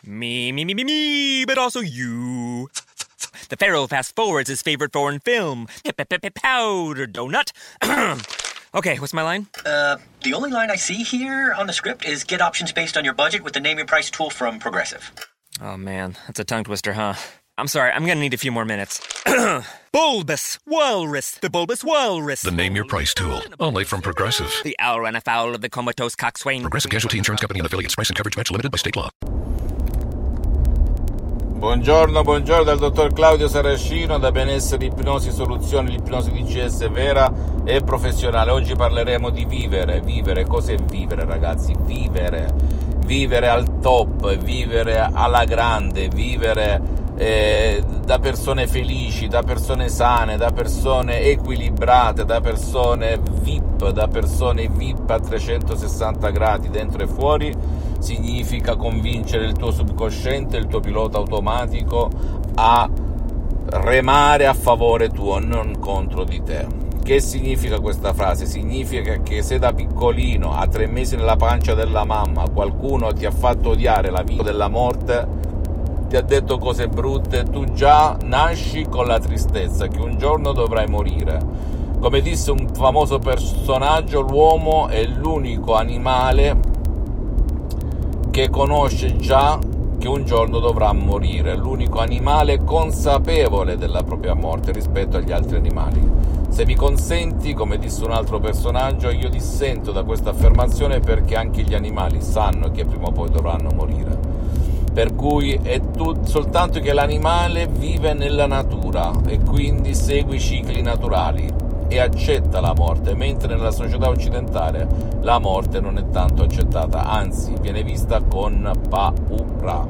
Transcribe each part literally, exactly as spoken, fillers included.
Me, me, me, me, me, but also you. The Pharaoh fast forwards his favorite foreign film, Powder Donut. Okay, what's my line? Uh, the only line I see here on the script is get options based on your budget with the Name Your Price tool from Progressive. Oh man, that's a tongue twister, huh? I'm sorry, I'm gonna need a few more minutes. Bulbous Walrus, the Bulbous Walrus. The Name Your Price tool, only from Progressive. The owl ran afoul of the comatose coxswain. Progressive Casualty Insurance Company and affiliates. Price and coverage match limited by state law. Buongiorno, buongiorno dal dottor Claudio Saracino da Benessere Ipnosi Soluzioni, l'ipnosi D C S vera e professionale. Oggi parleremo di vivere, vivere, cos'è vivere ragazzi? Vivere, vivere al top, vivere alla grande, vivere eh, da persone felici, da persone sane, da persone equilibrate, da persone V I P, da persone V I P a trecentosessanta gradi dentro e fuori. Significa convincere il tuo subconsciente, il tuo pilota automatico a remare a favore tuo, non contro di te. Che significa questa frase? Significa che se da piccolino, a tre mesi nella pancia della mamma, qualcuno ti ha fatto odiare la vita della morte, ti ha detto cose brutte, tu già nasci con la tristezza che un giorno dovrai morire. Come disse un famoso personaggio, l'uomo è l'unico animale che conosce già che un giorno dovrà morire, l'unico animale consapevole della propria morte rispetto agli altri animali. Se mi consenti, come disse un altro personaggio, io dissento da questa affermazione perché anche gli animali sanno che prima o poi dovranno morire. Per cui è tut- soltanto che l'animale vive nella natura e quindi segue i cicli naturali e accetta la morte, mentre nella società occidentale la morte non è tanto accettata, anzi viene vista con paura.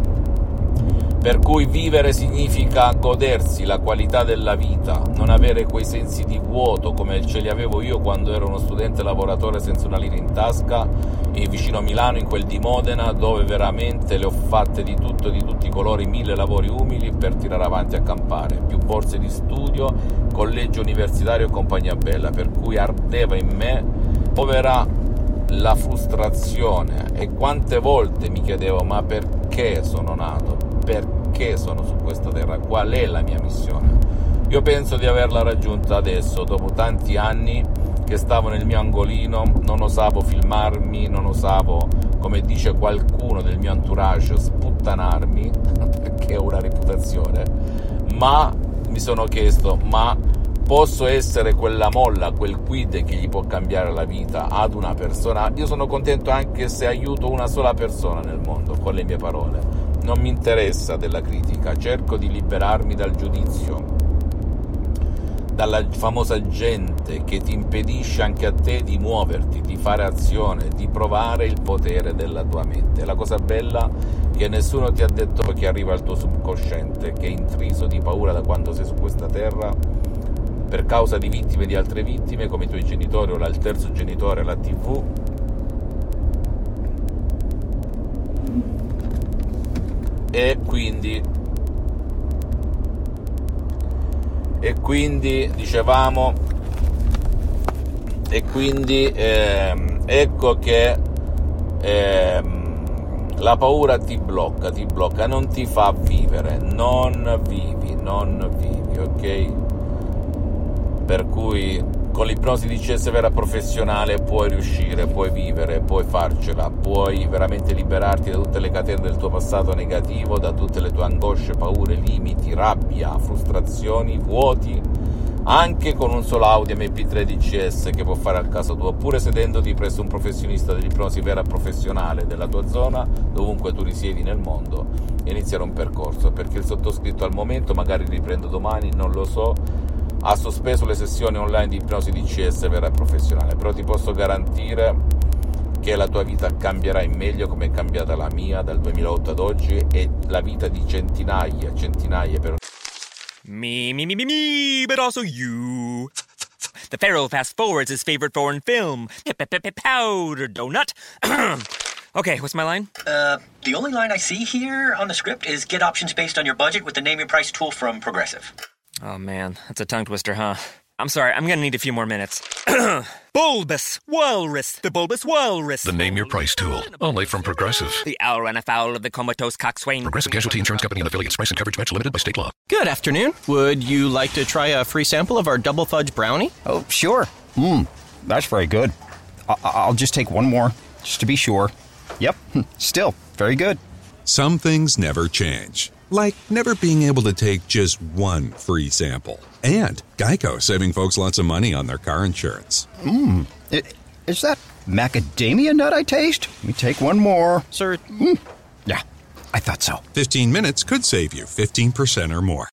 Per cui vivere significa godersi la qualità della vita, non avere quei sensi di vuoto come ce li avevo io quando ero uno studente lavoratore senza una lira in tasca, e vicino a Milano, in quel di Modena, dove veramente le ho fatte di tutto, di tutti i colori, mille lavori umili per tirare avanti a campare, più borse di studio, collegio universitario e compagnia bella, per cui ardeva in me, povera, la frustrazione. E quante volte mi chiedevo: ma perché sono nato? Perché sono su questa terra? Qual è la mia missione? Io penso di averla raggiunta adesso, dopo tanti anni che stavo nel mio angolino, non osavo filmarmi, non osavo, come dice qualcuno del mio entourage, sputtanarmi, perché ho una reputazione, ma mi sono chiesto: ma posso essere quella molla, quel quid che gli può cambiare la vita ad una persona? Io sono contento anche se aiuto una sola persona nel mondo con le mie parole. Non mi interessa della critica, cerco di liberarmi dal giudizio, dalla famosa gente che ti impedisce anche a te di muoverti, di fare azione, di provare il potere della tua mente. La cosa bella è che nessuno ti ha detto che arriva al tuo subconsciente, che è intriso di paura da quando sei su questa terra, per causa di vittime di altre vittime, come i tuoi genitori o il terzo genitore, la tivù, e quindi e quindi dicevamo e quindi ehm, ecco che ehm, la paura ti blocca, ti blocca, non ti fa vivere, non vivi, non vivi, ok? Per cui con l'ipnosi D C S vera professionale puoi riuscire, puoi vivere, puoi farcela, puoi veramente liberarti da tutte le catene del tuo passato negativo, da tutte le tue angosce, paure, limiti, rabbia, frustrazioni, vuoti, anche con un solo audio M P tre D C S che può fare al caso tuo, oppure sedendoti presso un professionista dell'ipnosi vera professionale della tua zona, dovunque tu risiedi nel mondo, e iniziare un percorso, perché il sottoscritto al momento, magari riprendo domani, non lo so, ha sospeso le sessioni online di ipnosi D C S vera e professionale, però ti posso garantire che la tua vita cambierà in meglio, come è cambiata la mia dal duemilaotto ad oggi, e la vita di centinaia, centinaia per Me, me, me, me, me, but also you. The Pharaoh fast forwards his favorite foreign film, Powder Donut. Okay, what's my line? Uh, the only line I see here on the script is get options based on your budget with the Name Your Price tool from Progressive. Oh man, that's a tongue twister, huh? I'm sorry, I'm gonna need a few more minutes. Bulbous Walrus, the Bulbous Walrus. The Name Your Price tool, only from Progressive. The owl ran afoul of the comatose coxswain. Progressive Casualty Insurance Company and affiliates. Price and coverage match limited by state law. Good afternoon. Would you like to try a free sample of our double fudge brownie? Oh, sure. Mmm, that's very good. I- I'll just take one more, just to be sure. Yep, still very good. Some things never change, like never being able to take just one free sample. And Geico saving folks lots of money on their car insurance. Mmm, is that macadamia nut I taste? Let me take one more. Sir? Mm. Yeah, I thought so. fifteen minutes could save you fifteen percent or more.